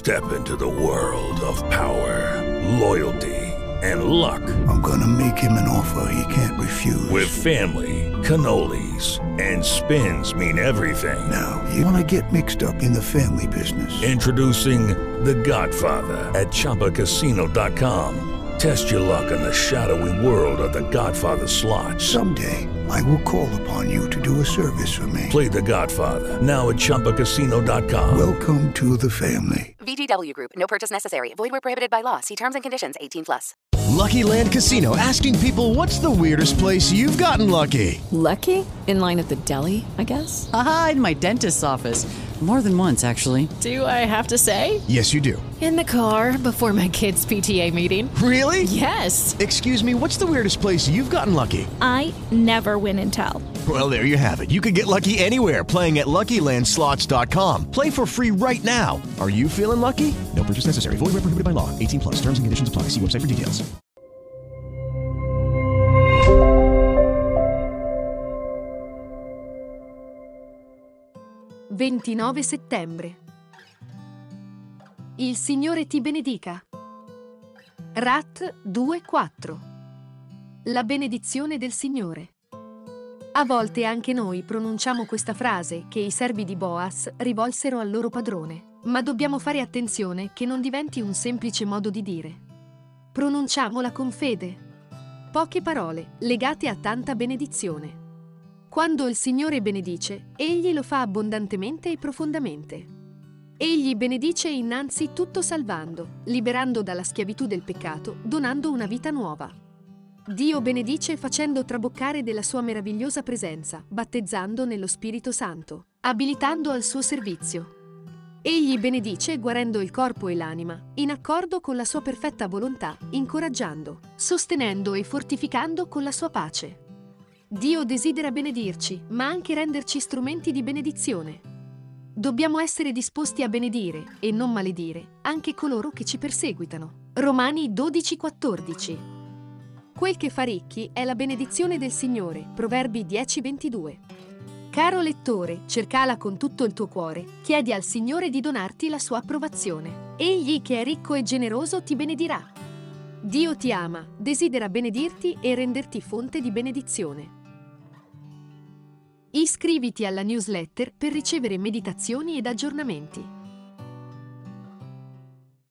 Step into the world of power, loyalty, and luck. I'm gonna make him an offer he can't refuse. With family, cannolis, and spins mean everything. Now, you wanna get mixed up in the family business. Introducing The Godfather at ChumbaCasino.com. Test your luck in the shadowy world of The Godfather slot. Someday, I will call upon you to do a service for me. Play The Godfather, now at ChumbaCasino.com. Welcome to the family. VGW Group. No purchase necessary. Void where prohibited by law. See terms and conditions. 18+. Lucky Land Casino, asking people, what's the weirdest place you've gotten lucky? Lucky? In line at the deli, I guess? Aha, in my dentist's office. More than once, actually. Do I have to say? Yes, you do. In the car before my kids' PTA meeting. Really? Yes. Excuse me, what's the weirdest place you've gotten lucky? I never win and tell. Well, there you have it. You can get lucky anywhere, playing at LuckyLandSlots.com. Play for free right now. Are you feeling lucky? No purchase necessary. Void where prohibited by law. 18+. Terms and conditions apply. See website for details. «29 settembre. Il Signore ti benedica». Rat 2,4. La benedizione del Signore. A volte anche noi pronunciamo questa frase che i servi di Boaz rivolsero al loro padrone, ma dobbiamo fare attenzione che non diventi un semplice modo di dire. Pronunciamola con fede. Poche parole legate a tanta benedizione. Quando il Signore benedice, Egli lo fa abbondantemente e profondamente. Egli benedice innanzi tutto salvando, liberando dalla schiavitù del peccato, donando una vita nuova. Dio benedice facendo traboccare della sua meravigliosa presenza, battezzando nello Spirito Santo, abilitando al suo servizio. Egli benedice guarendo il corpo e l'anima, in accordo con la sua perfetta volontà, incoraggiando, sostenendo e fortificando con la sua pace. Dio desidera benedirci, ma anche renderci strumenti di benedizione. Dobbiamo essere disposti a benedire e non maledire anche coloro che ci perseguitano. Romani 12,14. Quel che fa ricchi è la benedizione del Signore. Proverbi 10,22. Caro lettore, cercala con tutto il tuo cuore, chiedi al Signore di donarti la sua approvazione. Egli che è ricco e generoso ti benedirà. Dio ti ama, desidera benedirti e renderti fonte di benedizione. Iscriviti alla newsletter per ricevere meditazioni ed aggiornamenti.